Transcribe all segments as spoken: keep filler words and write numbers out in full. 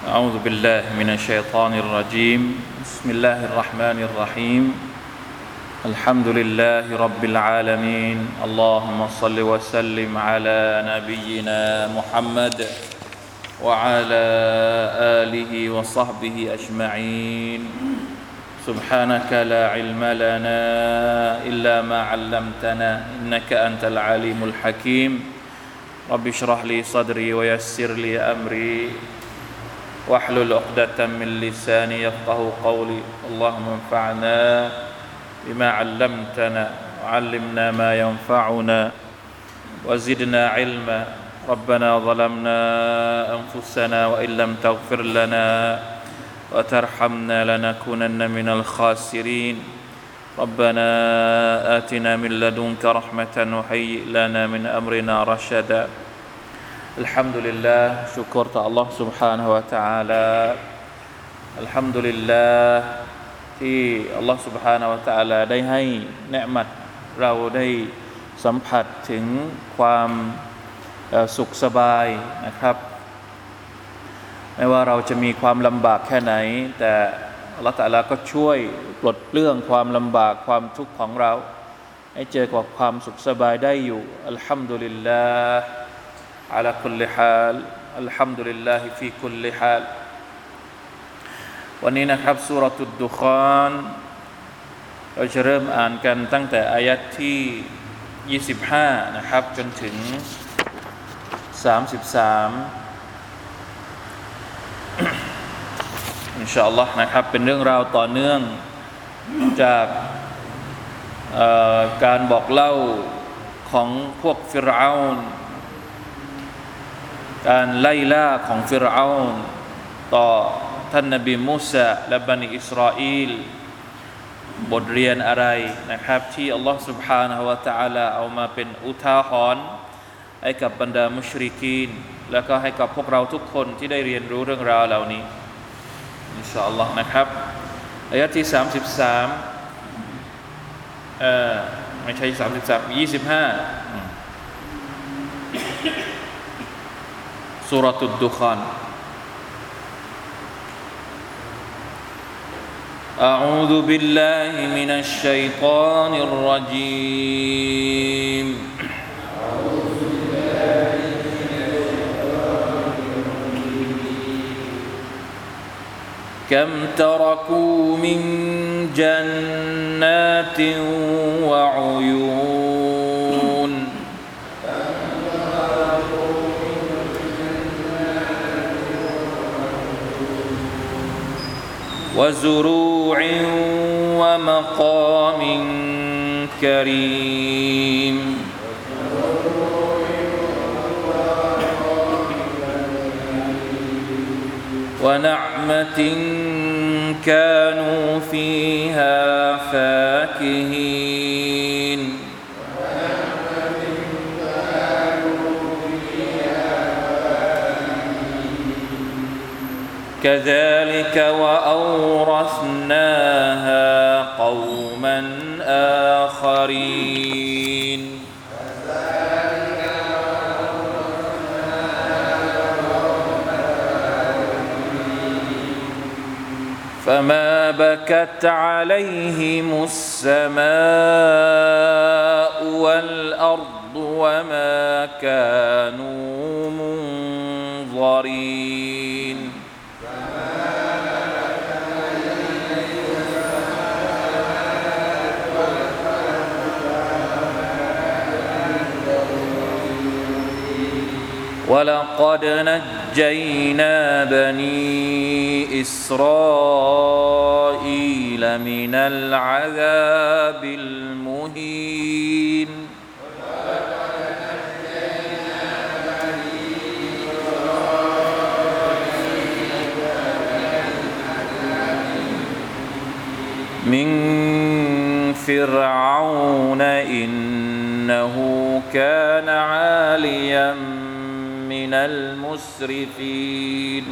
أعوذ بالله من الشيطان الرجيم بسم الله الرحمن الرحيم الحمد لله رب العالمين اللهم صل وسلم على نبينا محمد وعلى آله وصحبه أجمعين سبحانك لا علم لنا إلا ما علمتنا إنك أنت العليم الحكيم رب اشرح لي صدري ويسر لي أمري واحلل عقدة من لساني يفقهوا قولي اللهم انفعنا بما علمتنا وعلمنا ما ينفعنا وزدنا علما ربنا ظلمنا أنفسنا وإن لم تغفر لنا وترحمنا لنكونن من الخاسرين ربنا آتنا من لدنك رحمة وهيئ لنا من أمرنا رشدا الحمد لله ชุกรต่อ Allah سبحانه และ تعالى الحمد لله ที่ Allah سبحانه และ تعالى ได้ให้เนืมัตเราได้สัมผัสถึงความสุขสบายนะครับไม่ว่าเราจะมีความลำบากแค่ไหนแต่ Allah تعالى ก็ช่วยปลดเปลื้องความลำบากความทุกข์ของเราให้เจอกับความสุขสบายได้อยู่อัลฮัมดุลิลลาห์على كل حال الحمد لله في كل حال วันนี้นะครับซูเราะตุดดุคานเราจะเริ่มอ่านกันตั้งแต่อายะห์ที่ยี่สิบห้านะครับจนถึงสามสิบสามอินชาอัลลอฮ์นะครับเป็นเรื่องราวต่อเนื่องจากการบอกเล่าของพวกฟิรเอานการไล่ล่าของฟิรเอานต่อท่านนบีมูซาและบันิอิสราเอลบทเรียนอะไรนะครับที่อัลลอฮฺ سبحانه และ تعالى เอามาเป็นอุทาหรณ์ให้กับบรรดามุชริกีนแล้วก็ให้กับพวกเราทุกคนที่ได้เรียนรู้เรื่องราวเหล่านี้อินชาอัลลอฮ์นะครับอายะห์ที่สามสิบสามเอ่อไม่ใช่สามสิบสามยี่สิบห้าسورة الدخان أعوذ بالله من الشيطان الرجيم كم تركوا من جنات وعيون وزروع ومقام كريم ونعمة كانوا فيها فاكهين كذلك وأورثناها قوما آخرين فما بكت عليهم السماء والأرض وما كانوا منظرين ولقد نجينا بني إسرائيل من العذاب المهين من فرعون إنه كان عاليا من المسرفين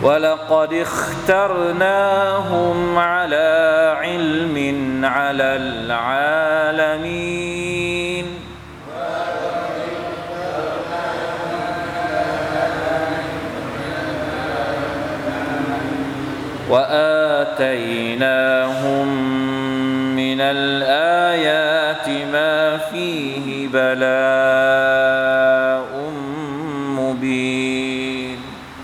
ولقد اخترناهم على علم على العالمين وآتيناهم من الآيات ما فيه بلاء مبين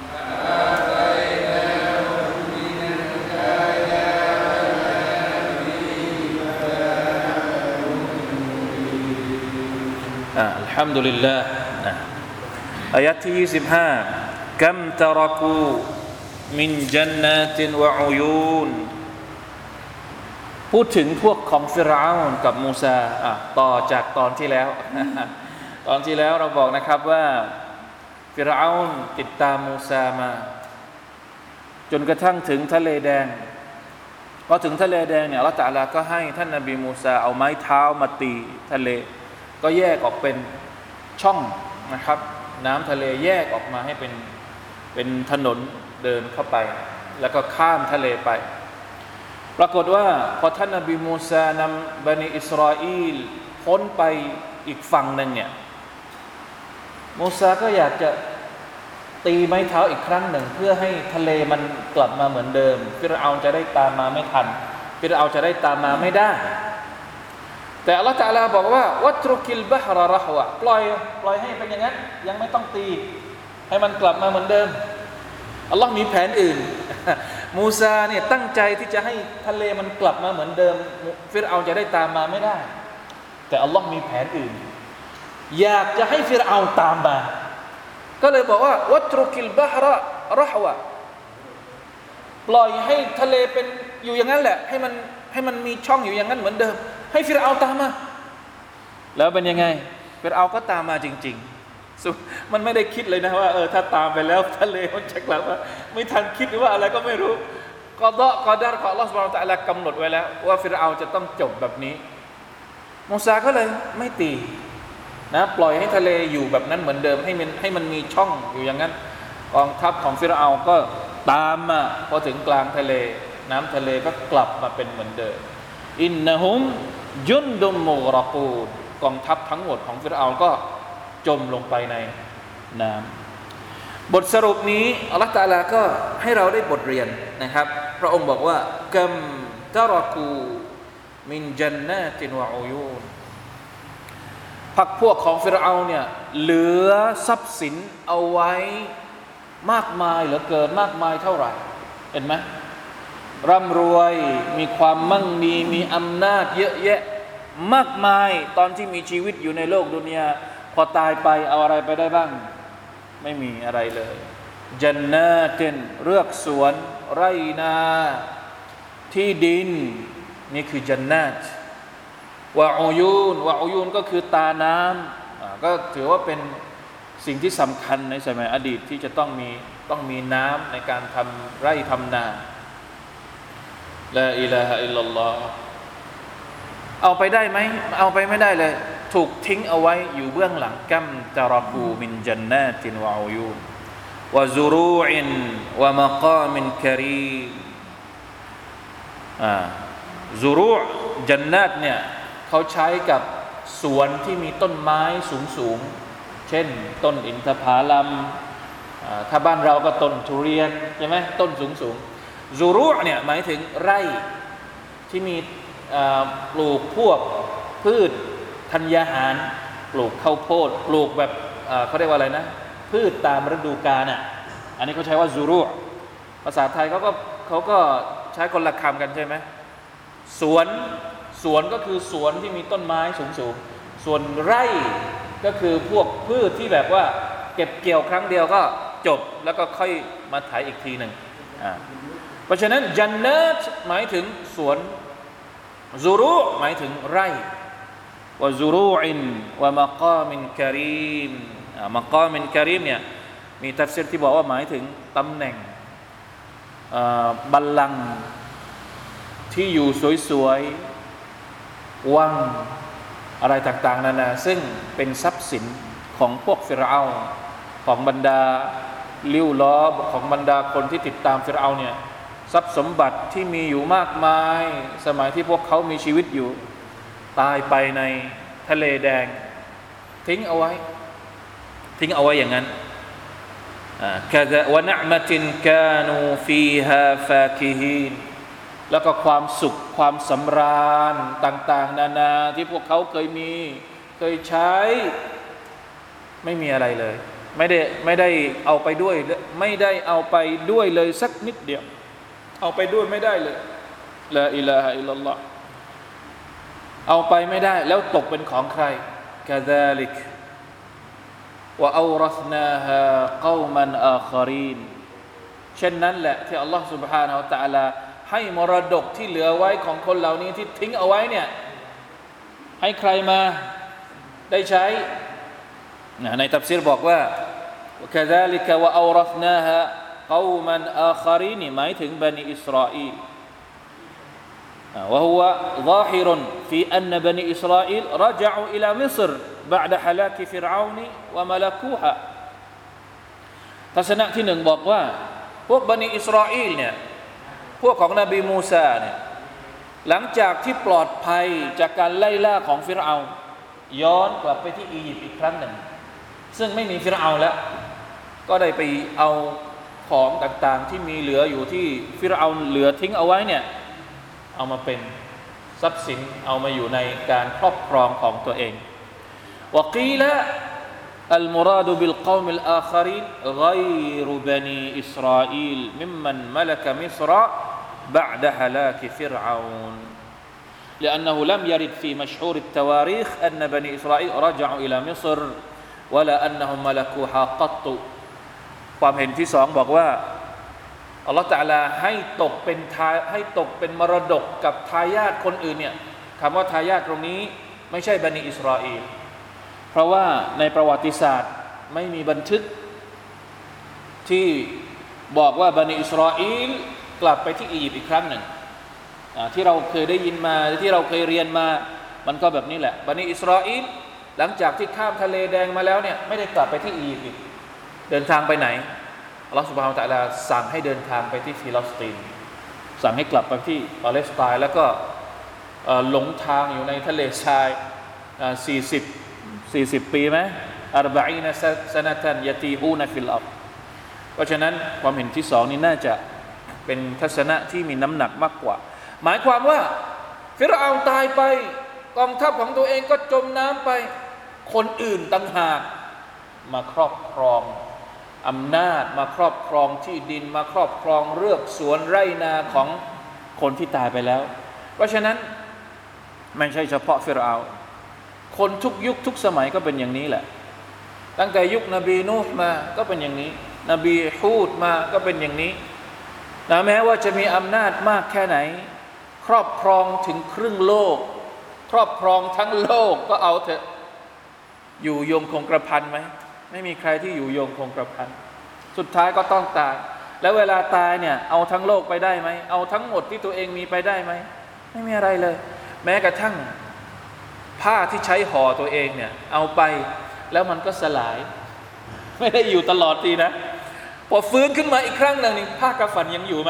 الحمد لله อายะที่ยี่สิบห้ากัมตะรกูมินจันนาตินวะอุยูนพูดถึงพวกของฟิรเอาน์กับมูซาอ่ะต่อจากตอนที่แล้ว ตอนที่แล้วเราบอกนะครับว่าฟิรเอาน์ติดตามมูซามาจนกระทั่งถึงทะเลแดงพอถึงทะเลแดงเนี่ยอัลเลาะห์ตะอาลาก็ให้ท่านนบีมูซาเอาไม้เท้ามาตีทะเลก็แยกออกเป็นช่องนะครับน้ำทะเลแยกออกมาให้เป็นเป็นถนนเดินเข้าไปแล้วก็ข้ามทะเลไปปรากฏว่าพอท่านนบีมูซานำบันิอิสราเอลพ้นไปอีกฝั่งหนึ่งเนี่ยมูซาก็อยากจะตีไม้เท้าอีกครั้งหนึ่งเพื่อให้ทะเลมันกลับมาเหมือนเดิมฟิรเอาน์จะได้ตามมาไม่ทันฟิรเอาน์จะได้ตามมาไม่ได้แต่อัลเลาะห์ตะอาลาบอกว่าวัตรุกิลบะฮระเราะฮวะปล่อยปล่อยให้เป็นอย่างนั้นยังไม่ต้องตีให้มันกลับมาเหมือนเดิมอัลลอฮ์มีแผนอื่นมูซาเนี่ยตั้งใจที่จะให้ทะเลมันกลับมาเหมือนเดิมฟิรเอาน์จะได้ตามมาไม่ได้แต่อัลลอฮ์มีแผนอื่นอยากจะให้ฟิรเอาน์ตามมาก็เลยบอกว่าวัตรุกิลบะฮระเราะฮวะปล่อยให้ทะเลเป็นอยู่อย่างนั้นแหละให้มันให้มันมีช่องอยู่อย่างนั้นเหมือนเดิมให้ฟิรเอาน์ตามมาแล้วเป็นยังไงฟิรเอาน์ก็ตามมาจริงๆมันไม่ได้คิดเลยนะว่าเออถ้าตามไปแล้วทะเลมันจะกลับมาไม่ทันคิดหรือว่าอะไรก็ไม่รู้กอฎอกอดัรของอัลเลาะห์ซุบฮานะฮูวะตะอาลากำหนดไว้แล้วว่าฟิรเอาน์จะต้องจบแบบนี้มูซาก็เลยไม่ตีนะปล่อยให้ทะเลอยู่แบบนั้นเหมือนเดิมให้มันให้มันมีช่องอยู่อย่างนั้นกองทัพของฟิรเอาน์ก็ตามมาพอถึงกลางทะเลน้ำทะเลก็กลับมาเป็นเหมือนเดิมอินนะฮุมยุนดุมมุกรอกูนกองทัพทั้งหมดของฟิรเอาน์ก็จมลงไปในน้ำบทสรุปนี้อัลเลาะห์ตะอาลาก็ให้เราได้บทเรียนนะครับพระองค์บอกว่ากัมตะรอกูมินจันนาตินวะอุยูนพรรคพวกของฟิรเอาน์เนี่ยเหลือทรัพย์สินเอาไว้มากมายเหลือเกินมากมายเท่าไหร่เห็นไหมร่ำรวยมีความมั่งมีมีอำนาจเยอะแยะมากมายตอนที่มีชีวิตอยู่ในโลกดุนยาพอตายไปเอาอะไรไปได้บ้างไม่มีอะไรเลยจันนาตินเรือกสวนไร่นาที่ดินนี่คือจันนาตวะอุยูนวะอุยูนก็คือตาน้ำก็ถือว่าเป็นสิ่งที่สำคัญในสมัยอดีตที่จะต้องมีต้องมีน้ำในการทำไร่ทำนาลาอิลาฮะอิลลัลลอฮ์เอาไปได้ไหมเอาไปไม่ได้เลยถูกทิ้งเอาไว้อยู่เบื้องหลังกัมตะรอกูมินจันนาตินวะอุยูนวะซุรูอินวะมะกามินกะรีมอ่าซุรูจันนาตเนี่ยเขาใช้กับสวนที่มีต้นไม้สูงๆเช่นต้นอินทผลัมถ้าบ้านเราก็ต้นทุเรียนใช่ไหมต้นสูงๆซุรูเนี่ยหมายถึงไร่ที่มีปลูกพวกพืชธัญญาหารปลูกข้าวโพดปลูกแบบเขาเรียกว่าอะไรนะพืชตามฤดูกาลอ่ะอันนี้เขาใช้ว่าซุรูภาษาไทยเขาก็เขาก็ใช้คนละคำกันใช่ไหมสวนสวนก็คือสวนที่มีต้นไม้สูงๆส่วนไร่ก็คือพวกพืชที่แบบว่าเก็บเกี่ยวครั้งเดียวก็จบแล้วก็ค่อยมาไถอีกทีหนึ่งอ่าเพราะฉะนั้นจันนาตหมายถึงสวนซุรูหมายถึงไร่วะซุรูอินวะมะกามินกะรีมอ่ามะกามินกะรีมเนี่ยมีตัฟซีรที่บอกว่าหมายถึงตำแหน่งอ่าบัลลังก์ที่อยู่สวยๆวังอะไรต่างๆนานาซึ่งเป็นทรัพย์สินของพวกฟิรเอาน์ของบรรดาลิ้วล้อของบรรดาคนที่ติดตามฟิรเอาน์เนี่ยทรัพย์สมบัติที่มีอยู่มากมายสมัยที่พวกเขามีชีวิตอยู่ตายไปในทะเลแดงทิ้งเอาไว้ทิ้งเอาไว้อย่างนั้นกะซะวะนะอ์มะตินกานูฟีฮาฟาคิฮีนแล้วก็ความสุขความสำราญต่างๆนานาที่พวกเขาเคยมีเคยใช้ไม่มีอะไรเลยไม่ได้ไม่ได้เอาไปด้วยไม่ได้เอาไปด้วยเลยสักนิดเดียวเอาไปด้วยไม่ได้เลยลาอิลาฮะอิลลัลลอฮ์เอาไปไม่ได้แล้วตกเป็นของใครกะซาลิกวะเอารัสนาฮาเกามันอาคารีนเช่นนั้นแหละที่อัลลอฮ์ سبحانه และ تعالى ให้มรดกที่เหลือไว้ของคนเหล่านี้ที่ทิ้งเอาไว้เนี่ยให้ใครมาได้ใช้ในตัฟซีรบอกว่า وكذلك وأورثناها قوما آخرين หมายถึงบันิอิสราอีล وهو ظاهر في أن بني إسرائيل رجعوا إلى مصر بعد هلاك فرعون وملكوها ทัศนะที่หนึ่งบอกว่าพวกบันิอิสราอีลเนี่ยพวกของนบีมูซาเนี่ยหลังจากที่ปลอดภัยจากการไล่ล่าของฟิรเอาน์ย้อนกลับไปที่อียิปต์อีกครั้งหนึ่งซึ่งไม่มีฟิรเอาน์แล้วก็ได้ไปเอาของต่างๆที่มีเหลืออยู่ที่ฟิรเอาน์เหลือทิ้งเอาไว้เนี่ยเอามาเป็นทรัพย์สินเอามาอยู่ในการครอบครองของตัวเองวะกีละالمراد بالقوم الآخرين غير بني إسرائيل ممن ملك مصر بعد هلاك فرعون لأنه لم يرد في مشهور التواريخ أن بني إسرائيل رجعوا إلى مصر ولا أنهم ملكوها قط ความเห็นที่สองบอกว่าอัลลอฮฺตะอาลาให้ตกเป็นทายให้ตกเป็นมรดกกับทายาทคนอื่นเนี่ยคำว่าทายาทตรงนี้ไม่ใช่บันิอิสราเอลเพราะว่าในประวัติศาสตร์ไม่มีบันทึกที่บอกว่าบันิอิสราเอลกลับไปที่อียิปต์อีกครั้งหนึ่งที่เราเคยได้ยินมาที่เราเคยเรียนมามันก็แบบนี้แหละบันิอิสราเอลหลังจากที่ข้ามทะเลแดงมาแล้วเนี่ยไม่ได้กลับไปที่อียิปต์อีกเดินทางไปไหนอัลลอฮฺซุบฮานะฮูวะตะอาลาสั่งให้เดินทางไปที่ฟิลิสตินสั่งให้กลับไปที่ปาเลสไตน์แล้วก็หลงทางอยู่ในทะเลทรายสี่สิบ สี่สิบปีไหมอัรบะอีนซะนะตันยะตีฮูนฟิลอัรฎ์เพราะฉะนั้นความเห็นที่สองนี้น่าจะเป็นทัศนะที่มีน้ำหนักมากกว่าหมายความว่าฟิรเอาน์ตายไปกองทัพของตัวเองก็จมน้ำไปคนอื่นต่างหากมาครอบครองอำนาจมาครอบครองที่ดินมาครอบครองเรือกสวนไร่นาของคนที่ตายไปแล้วเพราะฉะนั้นไม่ใช่เฉพาะฟิรเอาน์คนทุกยุคทุกสมัยก็เป็นอย่างนี้แหละตั้งแต่ยุคนบีนูฮ์มาก็เป็นอย่างนี้นบีฮูดมาก็เป็นอย่างนี้นะแม้ว่าจะมีอำนาจมากแค่ไหนครอบครองถึงครึ่งโลกครอบครองทั้งโลกก็เอาเถอะอยู่ยงคงกระพันไหมไม่มีใครที่อยู่ยงคงกระพันสุดท้ายก็ต้องตายแล้วเวลาตายเนี่ยเอาทั้งโลกไปได้ไหมเอาทั้งหมดที่ตัวเองมีไปได้ไหมไม่มีอะไรเลยแม้กระทั่งผ้าที่ใช้ห่อตัวเองเนี่ยเอาไปแล้วมันก็สลายไม่ได้อยู่ตลอดทีนะพอฟื้นขึ้นมาอีกครั้งหนึ่งนี่ผ้ากำฝันยังอยู่ไหม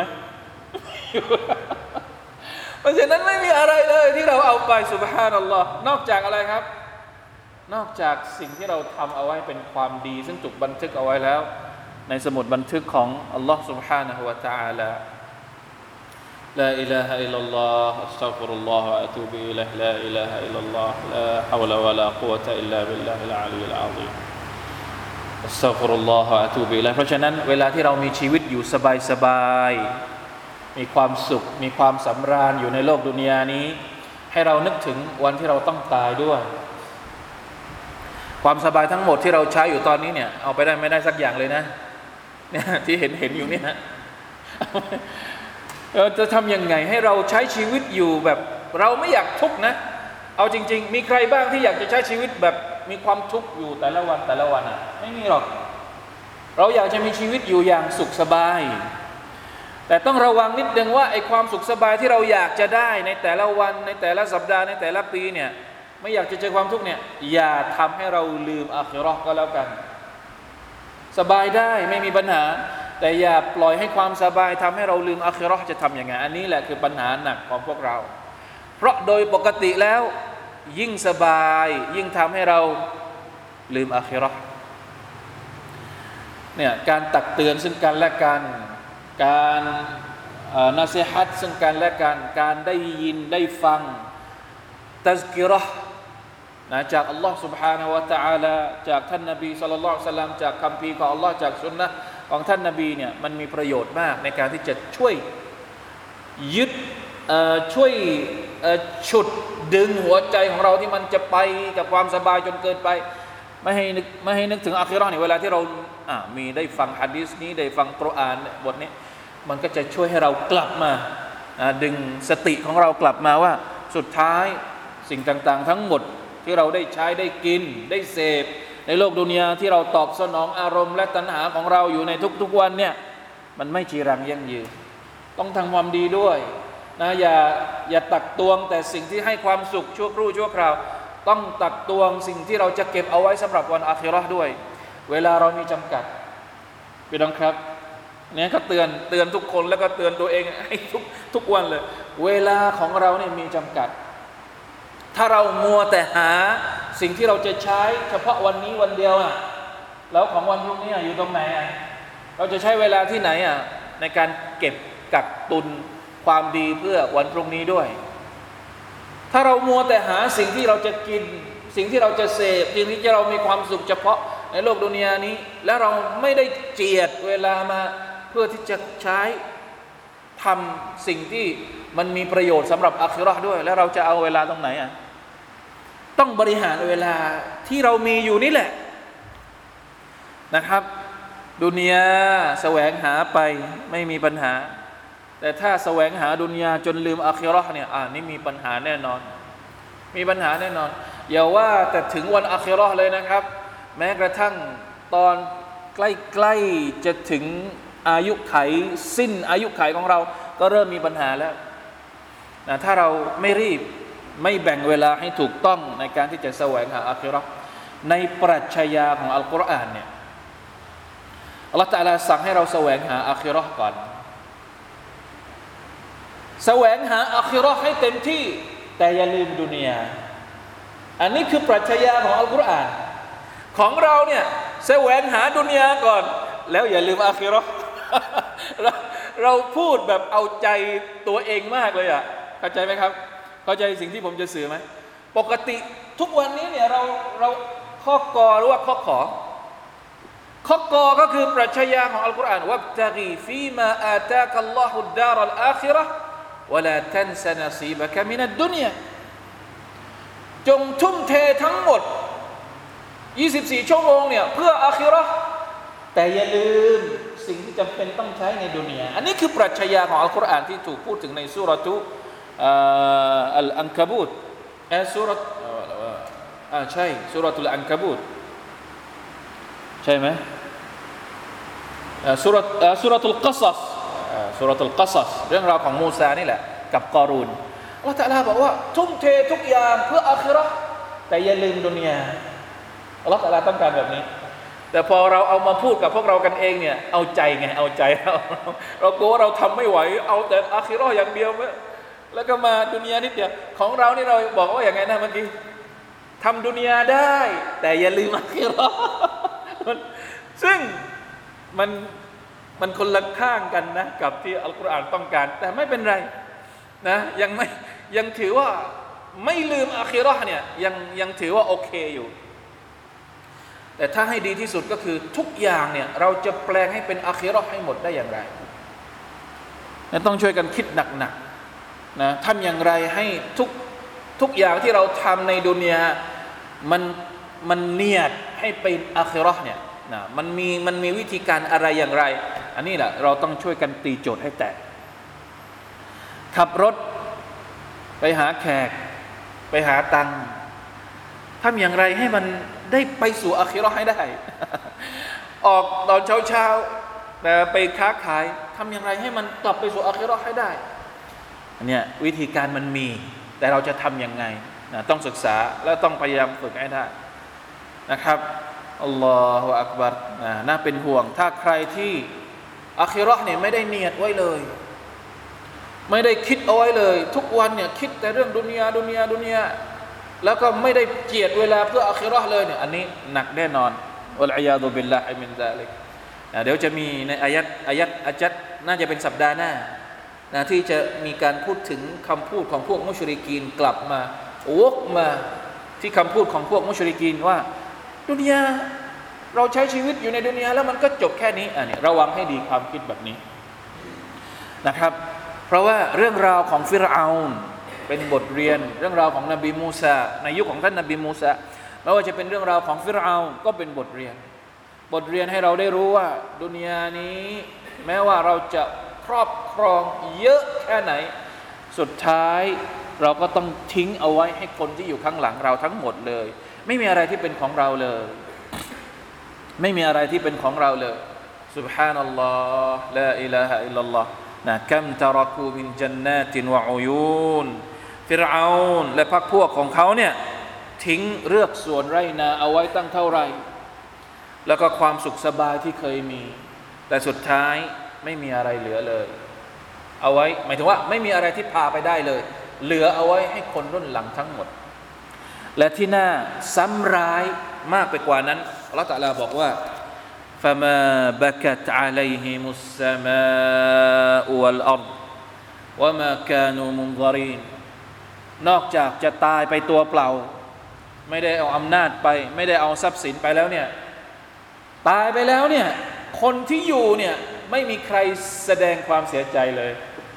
เพราะฉะนั้นไม่มีอะไรเลยที่เราเอาไปซุบฮานัลลอฮ์นอกจากอะไรครับนอกจากสิ่งที่เราทำเอาไว้เป็นความดีซึ่งถูกบันทึกเอาไว้แล้วในสมุดบันทึกของอัลลอฮ์ سبحانه และ تعالى لا إله إلا الله أستغفر الله وأتوب إليه لا إله إلا الله لا حول ولا قوة إلا بالله العلي العظيم أستغفر الله وأتوب إليه เพราะฉะนั้นเวลาที่เรามีชีวิตอยู่สบายๆมีความสุขมีความสำราญอยู่ในโลกดุนยานี้ให้เรานึกถึงวันที่เราต้องตายด้วยความสบายทั้งหมดที่เราใช้อยู่ตอนนี้เนี่ยเอาไปได้ไม่ได้สักอย่างเลยนะเนี่ยที่เห็นเห็นอยู่เนี่ยนะเราจะทำยังไงให้เราใช้ชีวิตอยู่แบบเราไม่อยากทุกข์นะเอาจริงๆมีใครบ้างที่อยากจะใช้ชีวิตแบบมีความทุกข์อยู่แต่ละวันแต่ละวันอ่ะไม่มีหรอกเราอยากจะมีชีวิตอยู่อย่างสุขสบายแต่ต้องระวังนิดนึงว่าไอ้ความสุขสบายที่เราอยากจะได้ในแต่ละวันในแต่ละสัปดาห์ในแต่ละปีเนี่ยไม่อยากจะเจอความทุกข์เนี่ยอย่าทำให้เราลืมอาคิเราะห์ก็แล้วกันสบายได้ไม่มีปัญหาแต่อย่าปล่อยให้ความสบายทำให้เราลืมอาคิเราะห์จะทำยังไงอันนี้แหละคือปัญหาหนักของพวกเราเพราะโดยปกติแล้วยิ่งสบายยิ่งทำให้เราลืมอาคิเราะห์เนี่ยการตักเตือนซึ่งกันและกันการนาซีฮัตซึ่งกันและกันการได้ยินได้ฟังตัซกิเราะห์นะจากอัลลอฮ์ سبحانه และ تعالى จากท่านนบีศ็อลลัลลอฮุอะลัยฮิวะซัลลัมจากคัมภีร์ของอัลลอฮ์จากสุนนะห์ของท่านนบีเนี่ยมันมีประโยชน์มากในการที่จะช่วยยึดช่วยฉุดดึงหัวใจของเราที่มันจะไปกับความสบายจนเกินไปไม่ให้นึกไม่ให้นึกถึงอาคิเราะห์เนี่ยเวลาที่เราอ่ามีได้ฟังหะดีษนี้ได้ฟังกุรอานบทนี้มันก็จะช่วยให้เรากลับมาดึงสติของเรากลับมาว่าสุดท้ายสิ่งต่างๆทั้งหมดที่เราได้ใช้ได้กินได้เสพในโลกดุนยาที่เราตอบสนองอารมณ์และตัณหาของเราอยู่ในทุกๆวันเนี่ยมันไม่จีรังยั่งยืนต้องทำความดีด้วยนะอย่าอย่าตักตวงแต่สิ่งที่ให้ความสุขชั่วครู่ชั่วคราวต้องตักตวงสิ่งที่เราจะเก็บเอาไว้สำหรับวันอาคิเราะห์ด้วยเวลาเรามีจำกัดพี่น้องครับเนี่ยก็เตือนเตือนทุกคนแล้วก็เตือนตัวเองให้ทุกทุกวันเลยเวลาของเราเนี่ยมีจำกัดถ้าเรามัวแต่หาสิ่งที่เราจะใช้เฉพาะวันนี้วันเดียวอ่ะแล้วของวันพรุ่งนี้อยู่ตรงไหนอ่ะเราจะใช้เวลาที่ไหนอ่ะในการเก็บกักตุนความดีเพื่อวันพรุ่งนี้ด้วยถ้าเรามัวแต่หาสิ่งที่เราจะกินสิ่งที่เราจะเสพสิ่งที่เรามีความสุขเฉพาะในโลกดุนยานี้แล้วเราไม่ได้เจียดเวลามาเพื่อที่จะใช้ทำสิ่งที่มันมีประโยชน์สำหรับอาคิเราะห์ด้วยแล้วเราจะเอาเวลาตรงไหนอ่ะต้องบริหารเวลาที่เรามีอยู่นี่แหละนะครับดุนยาแสวงหาไปไม่มีปัญหาแต่ถ้าแสวงหาดุนยาจนลืมอาคิเราะห์เนี่ยอ่านี่มีปัญหาแน่นอนมีปัญหาแน่นอนอย่าว่าแต่ถึงวันอาคิเราะห์เลยนะครับแม้กระทั่งตอนใกล้ๆจะถึงอายุไขสิ้นอายุไขของเราก็เริ่มมีปัญหาแล้วนะถ้าเราไม่รีบไม่แบ่งเวลาให้ถูกต้องในการที่จะแสวงหาอาคิเราะห์ในปรัชญาของอัลกุรอานเนี่ยอัลเลาะห์ตะอาลาสั่งให้เราแสวงหาอาคิเราะห์ก่อนแสวงหาอาคิเราะห์ให้เต็มที่แต่อย่าลืมดุนยาอันนี้คือปรัชญาของอัลกุรอานของเราเนี่ยแสวงหาดุนยาก่อนแล้วอย่าลืมอาคิเราะห์ เราเราพูดแบบเอาใจตัวเองมากเลยอ่ะเข้าใจไหมครับเข้าใจสิ่งที่ผมจะสื่อไหมปกติทุกวันนี้เนี่ยเราเราข้อกอหรือว่าข้อขอข้อกอก็คือปรัชญาของอัลกุรอานวับตะกีฟีมาอาตากัลลอฮุดดารัลอาคิเราะห์วะลาตันซะนะซีบะกะมินัดดุนยาจงทุ่มเททั้งหมดยี่สิบสี่ชั่วโมงเนี่ยเพื่ออาคิเราะห์แต่อย่าลืมสิ่งที่จำเป็นต้องใช้ในดุนยาอันนี้คือปรัชญาของอัลกุรอานที่ถูกพูดถึงในซูเราะตุอัลอันกะบูตเออซูเราะห์อ่าใช่ซูเราะตุลอันกะบูตใช่ไหมซูเราะห์ซูเราะตุลกัศศซูเราะตุลกัศศเรื่องราวของมูซานี่แหละกับกอรูนอัลเลาะห์ตะอาลาบอกว่าทุ่มเททุกอย่างเพื่ออาคิเราะห์แต่อย่าลืมดุนยาอัลเลาะห์ตะอาลาต้องการแบบนี้แต่พอเราเอามาพูดกับพวกเรากันเองเนี่ยเอาใจไงเอาใจเราเรากลัวเราทำไม่ไหวเอาแต่อาคิเราะห์อย่างเดียวแล้วก็มาดุนยานิดเดียวของเรานี่เราบอกว่าอย่างไงนะเมื่อกี้ทำดุนยาได้แต่อย่าลืมอาคิเราะห์ซึ่งมันมันคนละข้างกันนะกับที่อัลกุรอานต้องการแต่ไม่เป็นไรนะยังไม่ยังถือว่าไม่ลืมอาคิเราะห์เนี่ยยังยังถือว่าโอเคอยู่แต่ถ้าให้ดีที่สุดก็คือทุกอย่างเนี่ยเราจะแปลงให้เป็นอาคิเราะห์ให้หมดได้อย่างไรต้องช่วยกันคิดหนักๆนะทำอย่างไรให้ทุกทุกอย่างที่เราทำในดุนยามันมันเนียดให้เป็นอาคิเราะห์เนี่ยนะมันมีมันมีวิธีการอะไรอย่างไรอันนี้แหละเราต้องช่วยกันตีโจทย์ให้แตกขับรถไปหาแขกไปหาตังค์ทำอย่างไรให้มันได้ไปสู่อาคิเราะห์ให้ได้ ออกตอนเช้าๆแต่ไปค้าขายทำอย่างไรให้มันกลับไปสู่อาคิเราะห์ให้ได้อันเนี้ยวิธีการมันมีแต่เราจะทำยังไงนะต้องศึกษาและต้องพยายามฝึกให้ได้นะครับอัลลอฮฺอักบัรน่าเป็นห่วงถ้าใครที่อาคิเราะห์เนี่ยไม่ได้เนียดไว้เลยไม่ได้คิดเอาไว้เลยทุกวันเนี่ยคิดแต่เรื่องดุนยาดุนยาดุนยาแล้วก็ไม่ได้เจียดเวลาเพื่ออาคิเราะห์เลยเนี่ยอันนี้หนักแน่นอนวัลอียาซุบิลลาฮิมินซาลิกเดี๋ยวจะมีในอายัดอายัดอาจัดน่าจะเป็นสัปดาห์หน้านะที่จะมีการพูดถึงคำพูดของพวกมุชริกีนกลับมาวกมาที่คำพูดของพวกมุชริกีนว่าดุนยาเราใช้ชีวิตอยู่ในดุนยาแล้วมันก็จบแค่นี้อันนี้ระวังให้ดีความคิดแบบนี้นะครับเพราะว่าเรื่องราวของฟิรเอาน์เป็นบทเรียนเรื่องราวของนบีมูซาในยุคของท่านนบีมูซาไม่ว่าจะเป็นเรื่องราวของฟิรเอาน์ก็เป็นบทเรียนบทเรียนให้เราได้รู้ว่าดุนยานี้แม้ว่าเราจะครอบครองเยอะแค่ไหนสุดท้ายเราก็ต้องทิ้งเอาไว้ให้คนที่อยู่ข้างหลังเราทั้งหมดเลยไม่มีอะไรที่เป็นของเราเลยไม่มีอะไรที่เป็นของเราเลยซุบฮานัลลอฮ์ลาอิลาฮะอิลลัลลอฮ์นะกัมตะรักูมินจันนาตินวะอุยูนฟิรเอาน์และพรรคพวกของเขาเนี่ยทิ้งเรือกสวนไร่นาเอาไว้ตั้งเท่าไหร่แล้วก็ความสุขสบายที่เคยมีแต่สุดท้ายไม่มีอะไรเหลือเลยเอาไว้หมายถึงว่าไม่มีอะไรที่พาไปได้เลยเหลือเอาไว้ให้คนรุ่นหลังทั้งหมดและที่น่าซ้ำร้ายมากไปกว่านั้นอัลเลาะห์ตะอาลาบอกว่า فما بكت عليهم السماء والأرض وما كانوا منظرين นอกจากจะตายไปตัวเปล่าไม่ได้เอาอำนาจไปไม่ได้เอาทรัพย์สินไปแล้วเนี่ยตายไปแล้วเนี่ยคนที่อยู่เนี่ยไม่มีใครแสดงความเสียใจเลย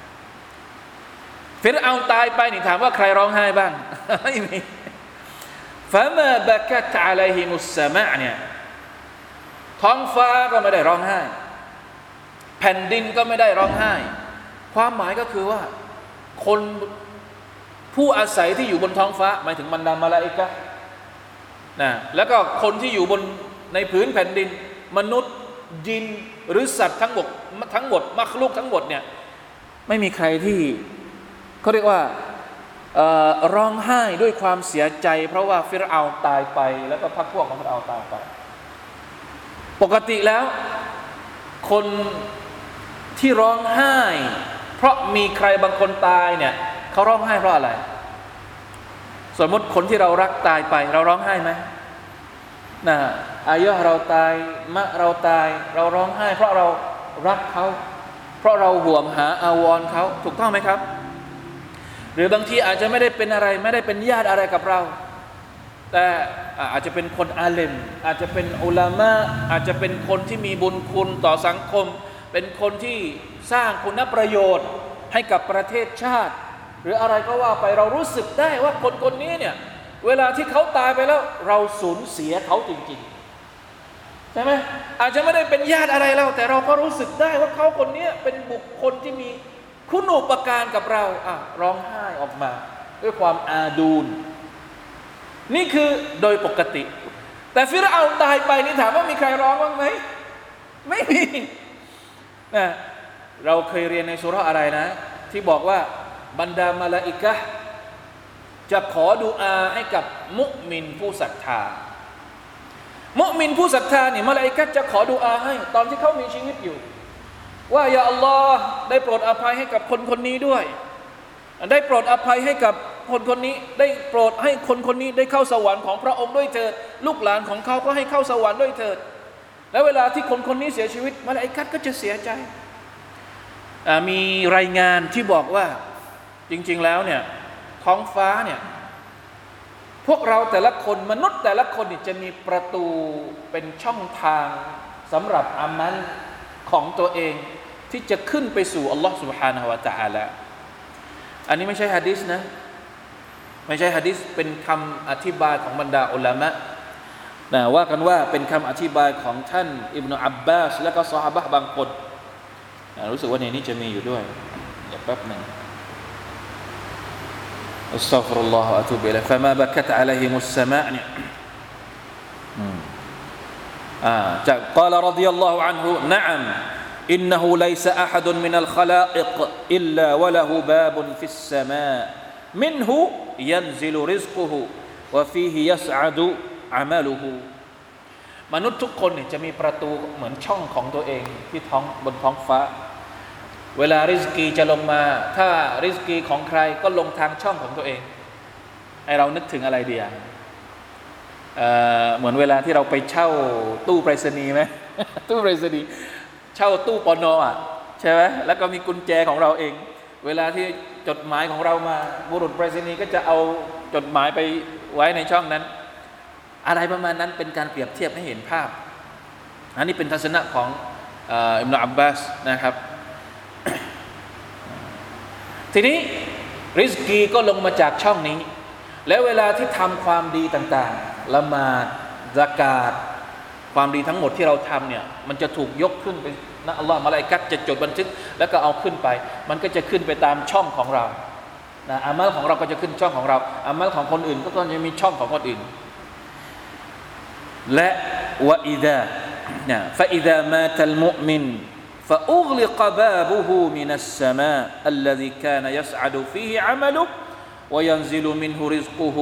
ฟิรเอาน์ตายไปนี่ถามว่าใครร้องไห้บ้างไม่มีฟะมาบะกะตะอะลัยฮิมุสสะมาอ์เนี่ยท้องฟ้าก็ไม่ได้ร้องไห้แผ่นดินก็ไม่ได้ร้องไห้ความหมายก็คือว่าคนผู้อาศัยที่อยู่บนท้องฟ้าหมายถึงบรรดามะลาอิกะฮ์นะแล้วก็คนที่อยู่บนในพื้นแผ่นดินมนุษย์ยินหรือสัตว์ทั้งหมดทั้งหมดมักลุกทั้งหมดเนี่ยไม่มีใครที่เขาเรียกว่าร้องไห้ด้วยความเสียใจเพราะว่าฟิรเอาน์ตายไปแล้วก็พรรคพวกของฟิรเอาน์ตายไปปกติแล้วคนที่ร้องไห้เพราะมีใครบางคนตายเนี่ยเขาร้องไห้เพราะอะไรสมมติคนที่เรารักตายไปเราร้องไห้ไหมนะอายะเราตายมะเราตายเราร้องไห้เพราะเรารักเขาเพราะเราห่วงหาอาวรณ์เขาถูกต้องไหมครับหรือบางทีอาจจะไม่ได้เป็นอะไรไม่ได้เป็นญาติอะไรกับเราแต่อาจจะเป็นคนอาเลมอาจจะเป็นอุลามะอาจจะเป็นคนที่มีบุญคุณต่อสังคมเป็นคนที่สร้างคุณประโยชน์ให้กับประเทศชาติหรืออะไรก็ว่าไปเรารู้สึกได้ว่าคนคนนี้เนี่ยเวลาที่เขาตายไปแล้วเราสูญเสียเขาจริงๆใช่ไหมอาจจะไม่ได้เป็นญาติอะไรเราแต่เราก็รู้สึกได้ว่าเขาคนนี้เป็นบุคคลที่มีคุณูปการกับเราอ่ะร้องไห้ออกมาด้วยความอาดูลนี่คือโดยปกติแต่ฟิรเอาน์ตายไปนี่ถามว่ามีใครร้องบ้างไหมไม่มีนะเราเคยเรียนในซูเราะห์อะไรนะที่บอกว่าบรรดามะลาอิกะฮ์จะขอดุอาให้กับมุมินผู้ศรัทธามุมินผู้ศรัทธาเนี่ยมะลาอิกะฮ์จะขอดุอาให้ตอนที่เขามีชีวิตอยู่ว่ายาอัลลอฮ์ได้โปรดอภัยให้กับคนคนนี้ด้วยได้โปรดอภัยให้กับคนคนนี้ได้โปรดให้คนคนนี้ได้เข้าสวรรค์ของพระองค์ด้วยเถิดลูกหลานของเขาก็ให้เข้าสวรรค์ด้วยเถิดแล้วเวลาที่คนคนนี้เสียชีวิตมะลาอิกะฮ์ก็จะเสียใจมีรายงานที่บอกว่าจริงๆแล้วเนี่ยท้องฟ้าเนี่ยพวกเราแต่ละคนมนุษย์แต่ละคนเนี่ยจะมีประตูเป็นช่องทางสำหรับอามัลของตัวเองที่จะขึ้นไปสู่อัลลอฮ์ سبحانه และ تعالى อันนี้ไม่ใช่หะดีษนะไม่ใช่หะดีษเป็นคำอธิบายของบรรดาอุลามะนะว่ากันว่าเป็นคำอธิบายของท่านอิบนุอับบาสและก็ซอฮาบะห์บางคนรู้สึกว่าในนี้จะมีอยู่ด้วยเดี๋ยวแป๊บนึงอัสตัฆฟิรุลลอฮฺวะอะตูบิอิลัยฮิฟะมาบะกะตะอะลัยฮิมุสสะมาอ์เนี่ยอ่าจากกล่าวรฎิยัลลอฮุอันฮุนะอัมอินนะฮูลัยซะอะฮัดุนมินัลคอลาอิกอิลลาวะละฮูบาบุนฟิสสะมามินฮูยันซิลุริซกุฮุวะฟีฮิยัสอะดุอะมัลุฮุมนุษย์ทุกคนเนี่ยจะมีประตูเหมือนช่องของตัวเองที่ท้องบนท้องฟ้าเวลาริสกีจะลงมาถ้าริสกีของใครก็ลงทางช่องของตัวเองให้เรานึกถึงอะไรดีอ่ะ เอ่อเหมือนเวลาที่เราไปเช่าตู้ไปรษณีย์ไหม ตู้ไปรษณีย์เช่าตู้ปนอ่ะใช่ไหมแล้วก็มีกุญแจของเราเองเวลาที่จดหมายของเรามาบุรุษไปรษณีย์ก็จะเอาจดหมายไปไว้ในช่องนั้นอะไรประมาณนั้นเป็นการเปรียบเทียบให้เห็นภาพอันนี้เป็นทัศนะของอิบนุอับบาสนะครับ ทีนี้ริสกีก็ลงมาจากช่องนี้แล้วเวลาที่ทำความดีต่างๆละหมาดซะกาตความดีทั้งหมดที่เราทำเนี่ยมันจะถูกยกขึ้นไปนะอัลลอฮ์มะลาอิกะฮ์จะจดบันทึกแล้วก็เอาขึ้นไปมันก็จะขึ้นไปตามช่องของเรานะอามัลของเราก็จะขึ้นช่องของเราอามัลของคนอื่นก็ต้องจะมีช่องของคนอื่นและวะอิซานะฟะอิซามาตัลมุอ์มินفأغلق بابه من السماء الذي كان يسعد فيه عمله وينزل منه رزقه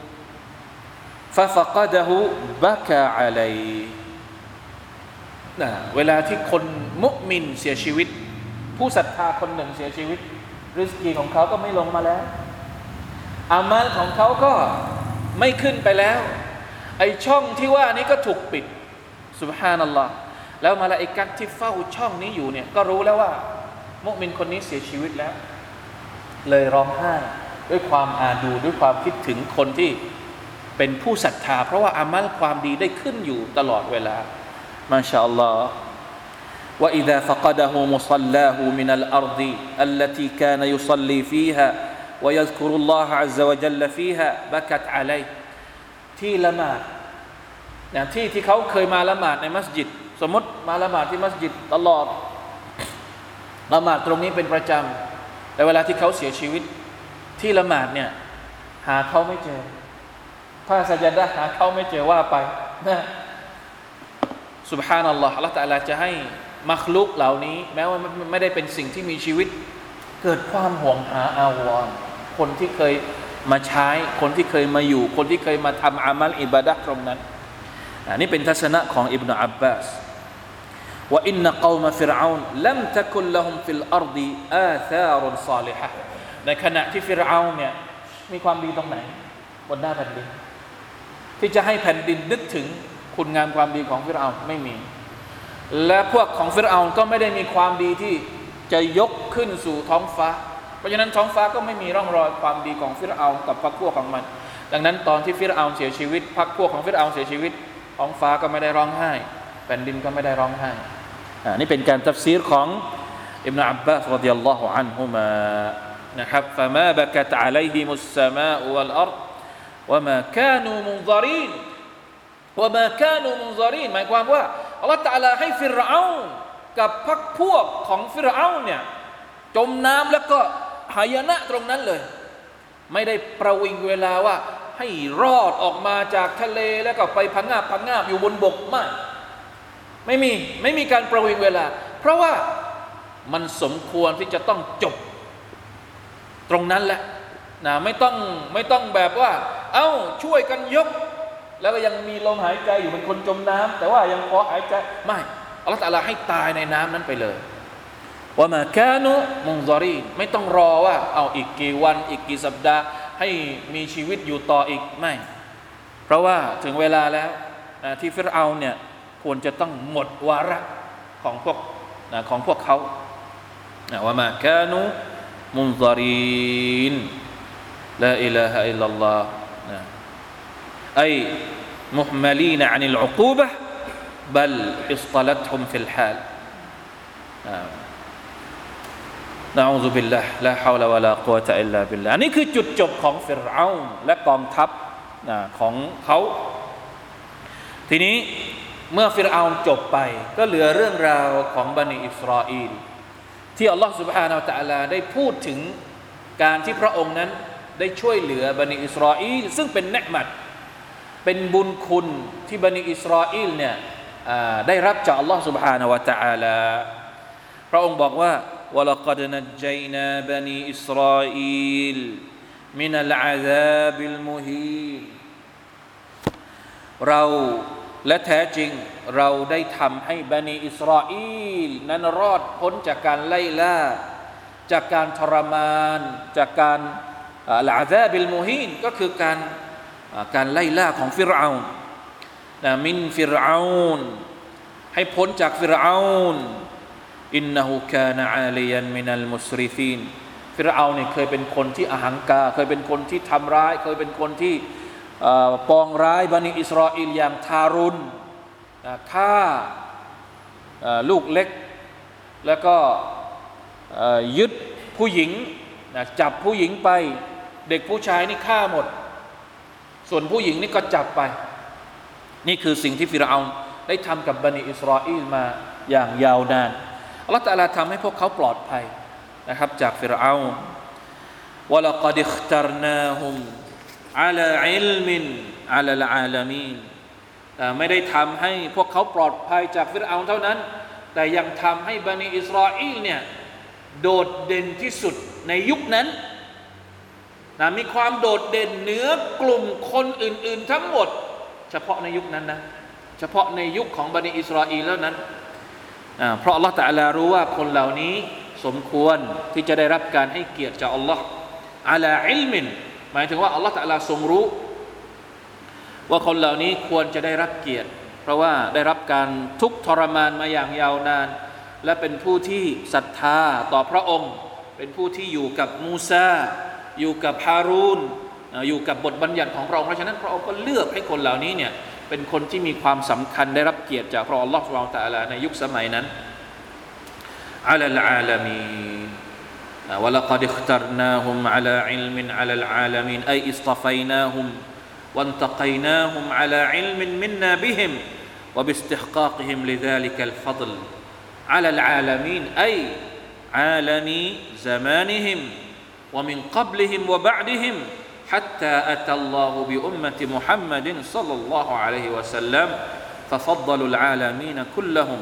ففقده بكى عليه นะเวลาที่คนมุมินเสียชีวิตผู้ศรัทธาคนหนึ่งเสียชีวิตริสกีของเขาก็ไม่ลงมาแล้วอามัลของเขาก็ไม่ขึ้นไปแล้วไอช่องที่ว่านี้ก็ถูกปิดซุบฮานัลลอฮ์แล้วมลาอิกะฮ์ที่เฝ้าช่องนี้อยู่เนี่ยก็รู้แล้วว่ามุมินคนนี้เสียชีวิตแล้วเลยร้องไห้ด้วยความอาดูด้วยความคิดถึงคนที่เป็นผู้ศรัทธาเพราะว่าอามัลความดีได้ขึ้นอยู่ตลอดเวลามาชาอัลลอฮ์ว่าอิซาฟะกะดะฮูมุศ็อลลาฮูมินัลอัรฎิอัลลตีกานะยุศ็อลลีฟีฮาويذكر الله عز وجل فيها بكت عليه ที่ละหมาดนะที่ที่เขาเคยมาละหมาดในมัสยิดสมมติมาละหมาดที่มัสยิดตลอดละหมาดตรงนี้เป็นประจำแต่เวลาที่เขาเสียชีวิตที่ละหมาดเนี่ยหาเขาไม่เจอผ้าสัจญะหาเขาไม่เจอว่าไปนะซุบฮานัลลอฮ์อัลเลาะห์ตะอาลาจะให้มัคลุกเหล่านี้แม้ว่าไม่ได้เป็นสิ่งที่มีชีวิตเกิดความห่วงหาอาวรณ์คนที่เคยมาใช้คนที่เคยมาอยู่คนที่เคยมาทำอามัลอิบาดะห์ตรงนั้นอันนี้เป็นทัศนะของอิบนุอับบาสว่าอินนะกอมฟิรเอานลัมตะกุลละฮุมฟิลอัรฎิอาธารุนศอลิฮะห์ในขณะที่ฟิรเอานเนี่ยมีความดีตรงไหนบนหน้าแผ่นดินที่จะให้แผ่นดินนึกถึงคุณงามความดีของฟิรเอานไม่มีและพวกของฟิรเอานก็ไม่ได้มีความดีที่จะยกขึ้นสู่ท้องฟ้าเพราะฉะนั้นท้องฟ้าก็ไม่มีร่องรอยความดีของฟิรเอานกับพรรคพวกของมันดังนั้นตอนที่ฟิรเอานเสียชีวิตพรรคพวกของฟิรเอานเสียชีวิตท้องฟ้าก็ไม่ได้ร้องไห้แผ่นดินก็ไม่ได้ร้องไห้อ่านี่เป็นการตัฟซีรของอิบนุอับบาสรอฎิยัลลอฮุอันฮุมานะครับฟะมาบะกะตอะลัยฮิมุสสมาอุวัลอัรฎวะมากานูมุนซอรีนวะมา กานูมุนซอรีนหมายความว่าอัลเลาะห์ตะอาลาให้ฟิรเอานกับพรรคพวกของฟิรเอานเนี่ยจมน้ำแล้วก็หายนะตรงนั้นเลยไม่ได้ประวิงเวลาว่าให้รอดออกมาจากทะเลแล้วก็ไปพังงาบพังงาบอยู่บนบกไม่ไม่มีไม่มีการประวิงเวลาเพราะว่ามันสมควรที่จะต้องจบตรงนั้นแหละนะไม่ต้องไม่ต้องแบบว่าเอ้าช่วยกันยกแล้วก็ยังมีลมหายใจอยู่เป็นคนจมน้ำแต่ว่ายังพอหายใจไม่อัลเลาะห์ตะอาลาให้ตายในน้ำนั้นไปเลยว่ามาแค่นุมุนซอรีนไม่ต้องรอว่าเอาอีกกี่วันอีกกี่สัปดาห์ให้มีชีวิตอยู่ต่ออีกไม่เพราะว่าถึงเวลาแล้วที่ฟิรเอาน์เนี่ยควรจะต้องหมดวาระของพวกของพวกเขาว่ามาแค่นุมุนซอรีนลาอิลาฮะอิลลัลลอฮ์ไอมุฮมัลีนอันิลอุกูบะห์บัลอิศตะลัตฮุมฟิลฮาลนะอูซุบิลลาห์ลาฮาวละวะลากุวะตะอิลลาบิลลาห์นี่คือจุดจบของฟิรเอาน์และกองทัพของเขาทีนี้เมื่อฟิรเอาน์จบไปก็เหลือเรื่องราวของบันิอิสราอีลที่อัลลอฮฺ سبحانه และ تعالى ได้พูดถึงการที่พระองค์นั้นได้ช่วยเหลือบันิอิสราอีลซึ่งเป็นเนือ์มัตเป็นบุญคุณที่บันิอิสราอีลเนี่ยได้รับจากอัลลอฮฺ سبحانه และ تعالى พระองค์บอกว่าوَلَقَدْ نَجَّيْنَا بَنِي إِسْرَائِيلَ مِنَ الْعَذَابِ الْمُهِينِ เราและแท้จริงเราได้ทำให้บันิอิสราเอลนั้นรอดพ้นจากการไล่ล่าจากการทรมานจากการอัลอาซาบิลมุฮีนก็คือการการไล่ล่าของฟิรเอาน์นะมินฟิรเอาน์ให้พ้นจากฟิรเอาน์อินนะฮูกานะอาลียันมินัลมุสริฟีนฟิรเอาน์เนี่ยเคยเป็นคนที่อหังการเคยเป็นคนที่ทำร้ายเคยเป็นคนที่ปองร้ายบันิอิสราเอลอย่างทารุณฆ่าลูกเล็กแล้วก็ยึดผู้หญิงจับผู้หญิงไปเด็กผู้ชายนี่ฆ่าหมดส่วนผู้หญิงนี่ก็จับไปนี่คือสิ่งที่ฟิรเอาน์ได้ทำกับบันิอิสราเอลมาอย่างยาวนานอัลเลาะห์ตะอาลาทำให้พวกเขาปลอดภัยนะครับจากฟิรเอาน์วะละกอดิอิคตัรนาฮุมอะลาอิลมินอะลาลอาลามีนไม่ได้ทำให้พวกเขาปลอดภัยจากฟิรเอาน์เท่านั้นแต่ยังทำให้บันิอิสราเอลเนี่ยโดดเด่นที่สุดในยุคนั้นนะมีความโดดเด่นเหนือกลุ่มคนอื่นๆทั้งหมดเฉพาะในยุคนั้นนะเฉพาะในยุคของบันิอิสราเอลแล้วนั้นเพราะอัลลอฮฺตะอาลารู้ว่าคนเหล่านี้สมควรที่จะได้รับการให้เกียรติจากอัลลอฮฺอะลาอิลมินหมายถึงว่าอัลลอฮฺตะอาลาทรงรู้ว่าคนเหล่านี้ควรจะได้รับเกียรติเพราะว่าได้รับการทุกข์ทรมานมาอย่างยาวนานและเป็นผู้ที่ศรัทธาต่อพระองค์เป็นผู้ที่อยู่กับมูซาอยู่กับฮารูนอยู่กับบทบัญญัติของพระองค์เพราะฉะนั้นพระองค์ก็เลือกให้คนเหล่านี้เนี่ยเป็นคนที่มีความสำคัญได้รับเกียรติจากพระองค์อัลลอฮฺซุบฮานะฮูวะตะอาลาในยุคสมัยนั้นอะลัลอาลามีนวะละกอดิอิคตัรนาฮุมอะลาอิลมินอะลัลอาลามีนอัยอิสฏฟัยนาฮุมวันตะกัยนาฮุมอะลาอิลมินมินนาบิฮิมวะบิอิสติฮกากิฮิมลิซาลิกัลฟัฎลอะลัลอาลามีนอัยอาลามีซะมานิฮิมومن قبلهم وبعدهم حتى أتى الله بأمة محمد صلى الله عليه وسلم ففضلوا العالمين كلهم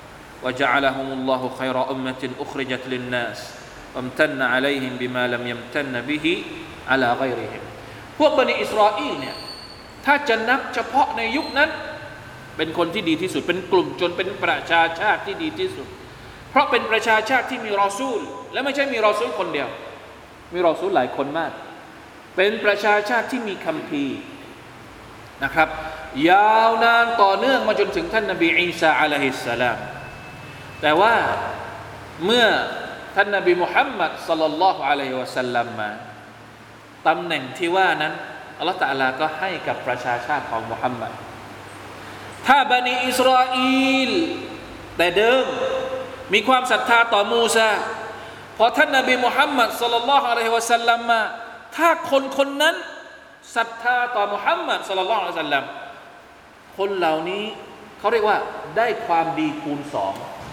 وجعلهم الله خير أمة أخرجت للناس وامتن عليهم بما لم يمتن به على غيرهم พวกบันิอิสราเอลเนี่ยถ้าจะนับเฉพาะในยุคนั้นเป็นคนที่ดีที่สุดเป็นกลุ่มชนเป็นประชาชาติที่ดีที่สุดเพราะเป็นประชาชาติที่มีรอซูลและไม่ใช่มีรอซูลคนเดียวมีรอซูลหลายคนมากเป็นประชาชาติที่มีคัมภีร์นะครับยาวนานต่อเนื่องมาจนถึงท่านนบีอีสาอะลัยฮิสสลามแต่ว่าเมื่อท่านนบีมุฮัมมัดศ็อลลัลลอฮุอะลัยฮิวะซัลลัมมาตำแหน่งที่ว่านั้นอัลเลาะห์ตะอาลาก็ให้กับประชาชาติของมุฮัมมัดถ้าบันิอิสราเอลแต่เดิมมีความศรัทธาต่อมูซาพอท่านนบีมุฮัมมัดศ็อลลัลลอฮุอะลัยฮิวะซัลลัมมาถ้าคนคนนั้นศรัทธาต่อมุฮัมมัดศ็อลลัลลอฮุอะลัยฮิวะซัลลัมคนเหล่านี้เขาเรียกว่าได้ความดีคูณสอง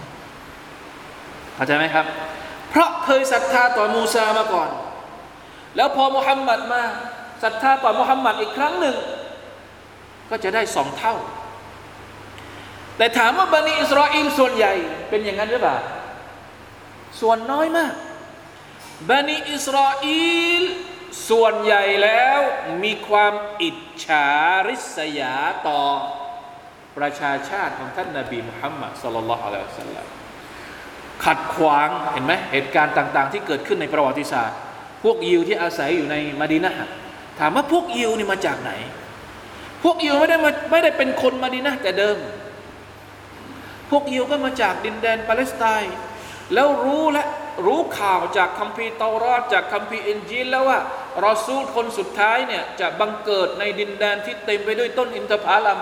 เข้าใจไหมครับเพราะเคยศรัทธาต่อมูซามาก่อนแล้วพอมุฮัมมัดมาศรัทธาต่อมุฮัมมัดอีกครั้งหนึ่งก็จะได้สองเท่าแต่ถามว่าบันิอิสราเอลส่วนใหญ่เป็นอย่างนั้นหรือเปล่าส่วนน้อยมากบันิอิสราเอลส่วนใหญ่แล้วมีความอิจฉาริษยาต่อประชาชาติของท่านนบีมุฮัมมัดศ็อลลัลลอฮุอะลัยฮิวะซัลลัมขัดขวางเห็นไหมเหตุการณ์ต่างๆที่เกิดขึ้นในประวัติศาสตร์พวกยิวที่อาศัยอยู่ในมะดีนะห์ถามว่าพวกยิวนี่มาจากไหนพวกยิวไม่ได้มาไม่ได้เป็นคนมะดีนะห์แต่เดิมพวกยิวก็มาจากดินแดนปาเลสไตน์แล้วรู้และรู้ข่าวจากคัมภีร์เตารอดจากคัมภีร์อินจีลแล้วว่ารอซูลคนสุดท้ายเนี่ยจะบังเกิดในดินแดนที่เต็มไปด้วยต้นอินทผลัม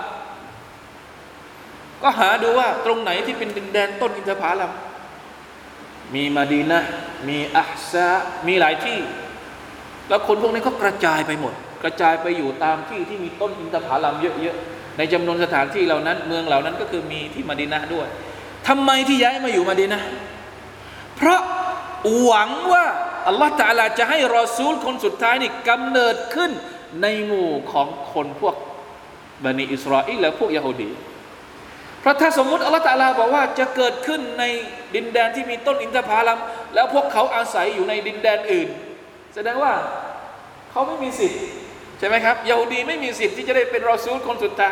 ก็หาดูว่าตรงไหนที่เป็นดินแดนต้นอินทผลัมมีมะดีนะห์มีอัฮซามีหลายที่แล้วคนพวกนี้ก็กระจายไปหมดกระจายไปอยู่ตามที่ที่มีต้นอินทผลัมเยอะๆในจำนวนสถานที่เหล่านั้นเมืองเหล่านั้นก็คือมีที่มะดีนะห์ด้วยทำไมที่ย้ายมาอยู่มะดีนะห์เพราะหวังว่าอัลลอฮฺตะอาลาจะให้รอซูลคนสุดท้ายนี่กำเนิดขึ้นในหมู่ของคนพวกบันิอิสราเอลและพวกยะฮูดีเพราะถ้าสมมุติอัลลอฮฺตะอาลาบอกว่าจะเกิดขึ้นในดินแดนที่มีต้นอินทผลัมแล้วพวกเขาอาศัยอยู่ในดินแดนอื่นแสดงว่าเขาไม่มีสิทธิ์ใช่ไหมครับยะฮูดีไม่มีสิทธิ์ที่จะได้เป็นรอซูลคนสุดท้าย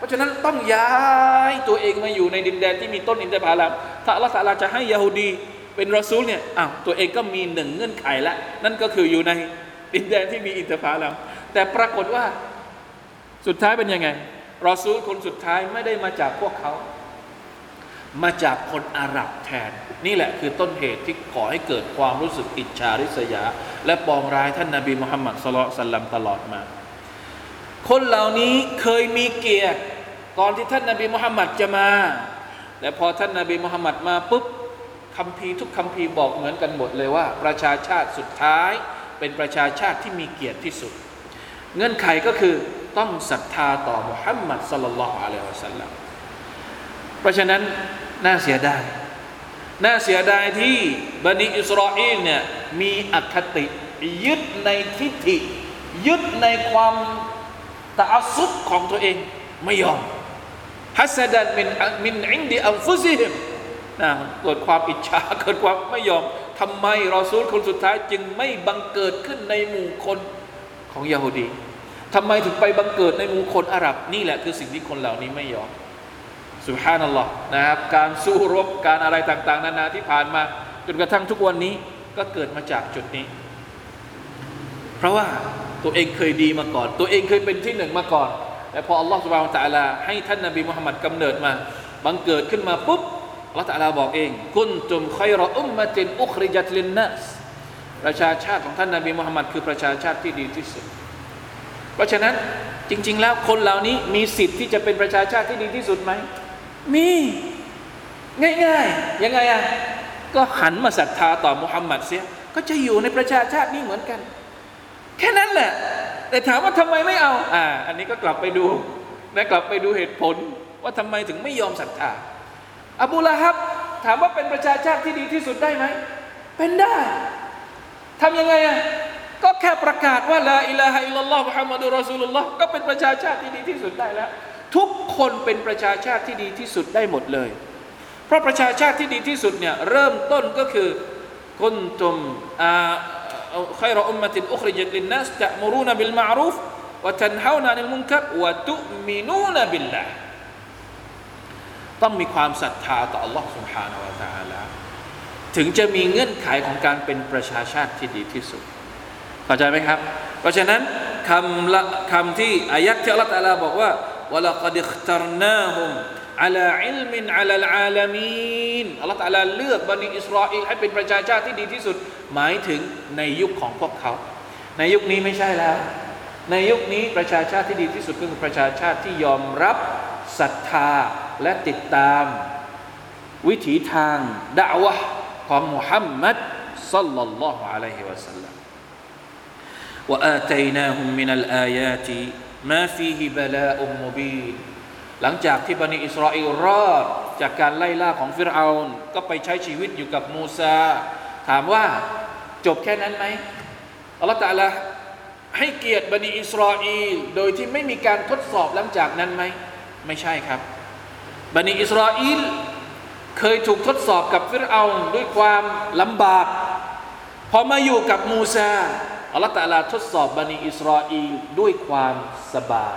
เพราะฉะนั้นต้องย้ายตัวเองมาอยู่ในดินแดนที่มีต้นอินทผลัมถ้าอัลเลาะห์ตะอาลาจะให้ยะฮูดีเป็นรอซูลเนี่ยอ้าวตัวเองก็มีหนึ่งเงื่อนไขละนั่นก็คืออยู่ในดินแดนที่มีอินทผลัมแต่ปรากฏว่าสุดท้ายเป็นยังไงรอซูลคนสุดท้ายไม่ได้มาจากพวกเขามาจากคนอาหรับแทนนี่แหละคือต้นเหตุที่ก่อให้เกิดความรู้สึกอิจฉาริษยาและปองร้ายท่านนบีมุฮัมมัดศ็อลลัลลอฮุอะลัยฮิวะซัลลัมตลอดมาคนเหล่านี้เคยมีเกียรติก่อนที่ท่านนบีมุฮัมมัดจะมาและพอท่านนบีมุฮัมมัดมาปุ๊บคัมภีร์ทุกคัมภีร์บอกเหมือนกันหมดเลยว่าประชาชาติสุดท้ายเป็นประชาชาติที่มีเกียรติที่สุดเงื่อนไขก็คือต้องศรัทธาต่อมุฮัมมัดศ็อลลัลลอฮุอะลัยฮิวะซัลลัมเพราะฉะนั้นน่าเสียดายน่าเสียดายที่บันิอิสราเอลเนี่ยมีอคติยึดในทิฏฐิยึดในความตะอัสซุบของตัวเองไม่ยอมฮัสดันมินมินอินดิอันฟุซิฮิมนะเกิดความอิจฉาเกิดความไม่ยอมทำไมรอซูลคนสุดท้ายจึงไม่บังเกิดขึ้นในหมู่คนของยะฮูดีทำไมถึงไปบังเกิดในหมู่คนอาหรับนี่แหละคือสิ่งที่คนเหล่านี้ไม่ยอมซุบฮานัลลอฮ์นะครับการสู้รบการอะไรต่างๆนานาที่ผ่านมาจนกระทั่งทุกวันนี้ก็เกิดมาจากจุดนี้เพราะว่าตัวเองเคยดีมาก่อนตัวเองเคยเป็นที่หนึ่งมาก่อนแต่พออัลลอฮฺซุบฮานะฮูวะตะอาลาให้ท่านนบีมุฮัมมัดกำเนิดมาบังเกิดขึ้นมาปุ๊บอัลลอฮฺตะอาลาบอกเองกุนตุมค็อยรออุมมะตินอุคริญัตลินนัสประชาชาติของท่านนบีมุฮัมมัดคือประชาชาติที่ดีที่สุดเพราะฉะนั้นจริงๆแล้วคนเหล่านี้มีสิทธิ์ที่จะเป็นประชาชาติที่ดีที่สุดไหมมีง่ายๆยังไงอ่ะก็หันมาศรัทธาต่อมุฮัมมัดเสียก็จะอยู่ในประชาชาตินี้เหมือนกันแค่นั้นแหละแต่ถามว่าทำไมไม่เอาอ่าอันนี้ก็กลับไปดูนะกลับไปดูเหตุผลว่าทำไมถึงไม่ยอมศรัทธาอบูละฮับถามว่าเป็นประชาชาติที่ดีที่สุดได้ไหมเป็นได้ทำยังไงอ่ะก็แค่ประกาศว่าลาอิลาฮะอิลลัลลอฮ์มุฮัมมัดุรรอซูลุลลอฮ์ก็เป็นประชาชาติที่ดีที่สุดได้แล้วทุกคนเป็นประชาชาติที่ดีที่สุดได้หมดเลยเพราะประชาชาติที่ดีที่สุดเนี่ยเริ่มต้นก็คือกุนตุมอ่าค็อยรออุมมะตินอุคริญัตลินนัสตะมุรูนะบิลมะอรูฟวะตันฮาวนะอันิลมุนกัรวะตุมินูนะบิลลาห์ต้องมีความศรัทธาต่อ Allah سبحانه และ تعالى ถึงจะมีเงื่อนไขของการเป็นประชาชาติที่ดีที่สุดเข้าใจไหมครับเพราะฉะนั้นคำละคำที่อายัดที่อัลเลาะห์ตะอาลาบอกว่าวะละกัดอิคตัรนาฮุมอะลาอิลมินอะลัลอาลามีนอัลเลาะห์ตะอาลาเลือกบันิอิสราเอลให้เป็นประชาชาติที่ดีที่สุดหมายถึงในยุคของพวกเขาในยุคนี้ไม่ใช่แล้วในยุคนี้ประชาชาติที่ดีที่สุดก็คือประชาชาติที่ยอมรับศรัทธาและติดตามวิถีทางดะอ์วะห์ของมุฮัมมัดศ็อลลัลลอฮุอะลัยฮิวะซัลลัมวะอาตัยนาฮุมมินัลอายาติมาฟีฮิบะลาอุมมุบีนหลังจากที่บันิอิสราเอลรอดจากการไล่ล่าของฟิรเอานก็ไปใช้ชีวิตอยู่กับมูซาถามว่าจบแค่นั้นไหมอัลเลาะห์ตะอาลาให้เกียรติบันิอิสราเอลโดยที่ไม่มีการทดสอบหลังจากนั้นไหมไม่ใช่ครับบันิอิสราเอลเคยถูกทดสอบกับฟิรเอานด้วยความลำบากพอมาอยู่กับมูซาอัลเลาะห์ตะอาลาทดสอบบันิอิสราเอลด้วยความสบาย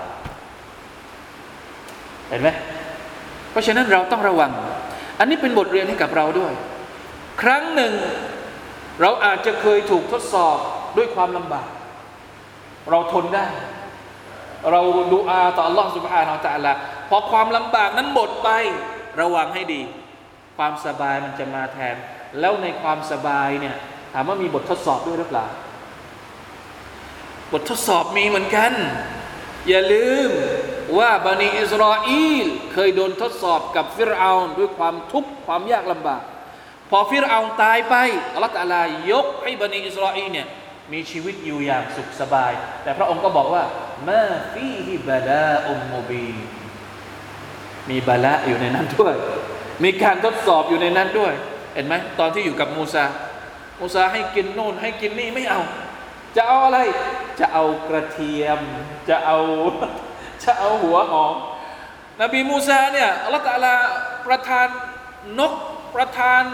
เห็นไหมเพราะฉะนั้นเราต้องระวังอันนี้เป็นบทเรียนให้กับเราด้วยครั้งหนึ่งเราอาจจะเคยถูกทดสอบด้วยความลำบากเราทนได้เราดุอาต่อ Allah سبحانه และ تعالى พอความลำบากนั้นหมดไประวังให้ดีความสบายมันจะมาแทนแล้วในความสบายเนี่ยถามว่ามีบททดสอบด้วยหรือเปล่าบททดสอบมีเหมือนกันอย่าลืมว่าบันิอิสราเอลเคยโดนทดสอบกับฟิรเอานด้วยความทุกข์ความยากลำบากพอฟิรเอานตายไปอัลเลาะห์ตะอาลายกให้บันิอิสราเอลเนี่ยมีชีวิตอยู่อย่างสุขสบายแต่พระองค์ก็บอกว่ามาฟีฮิบะลาอุมมุบีนมีบะลาอยู่ในนั้นด้วยมีการทดสอบอยู่ในนั้นด้วยเห็นไหมตอนที่อยู่กับมูซามูซาให้กินโน่นให้กินนี่ไม่เอาจะเอาอะไรจะเอากระเทียมจะเอาจะเอาหัวหอมนบีมูซาเนี่ยอัลเลาะห์ตะอาลาประทานนกประทาน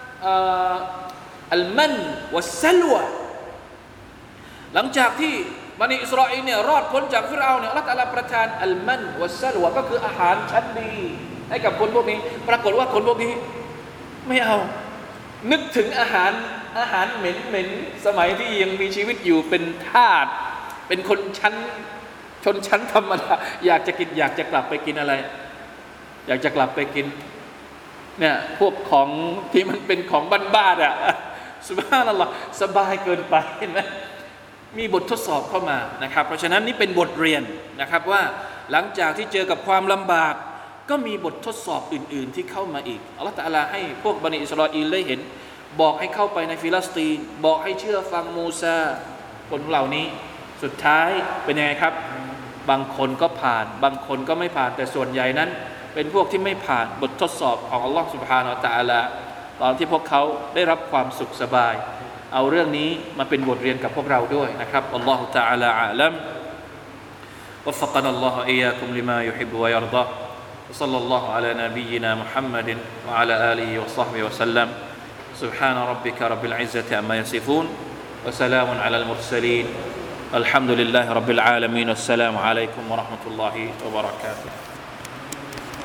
อัลมันวัสซัลวะหลังจากที่บันิอิสราเอลเนี่ยรอดพ้นจากฟิรเอาเนี่ยอัลเลาะห์ตะอาลาประทานอัลมันวัสซัลวะก็คืออาหารชั้นดีให้กับคนพวกนี้ปรากฏว่าคนพวกนี้ไม่เอานึกถึงอาหารอาหารเหม็นเหม็นสมัยที่ยังมีชีวิตอยู่เป็นทาสเป็นคนชั้นชนชั้นธรรมดาอยากจะกินอยากจะกลับไปกินอะไรอยากจะกลับไปกินเนี่ยพวกของที่มันเป็นของบ้านๆอ่ะซุบฮานัลลอฮ์สบายเกินไปเห็นไหมมีบททดสอบเข้ามานะครับเพราะฉะนั้นนี่เป็นบทเรียนนะครับว่าหลังจากที่เจอกับความลำบากก็มีบททดสอบอื่นๆที่เข้ามาอีกอัลลอฮฺตะอาลาให้พวกบันิอิสราเอลได้เห็นบอกให้เข้าไปในฟิลิสตีนบอกให้เชื่อฟังมูซาคนเหล่านี้สุดท้ายเป็นยังไงครับบางคนก็ผ่านบางคนก็ไม่ผ่านแต่ส่วนใหญ่นั้นเป็นพวกที่ไม่ผ่านบททดสอบของอัลลอฮฺ سبحانه และ تعالى ตอนที่พวกเขาได้รับความสุขสบายเอาเรื่องนี้มาเป็นบทเรียนกับพวกเราด้วยนะครับอัลลอฮฺ تعالى อาลัม وفقنا الله إياكم لما يحب ويرضى وصلى الله على نبينا محمد وعلى آله وصحبه وسلم سبحان ربك رب العزة عما يصفون وسلام على المرسلين الحمد لله رب العالمين والسلام عليكم ورحمة الله وبركاته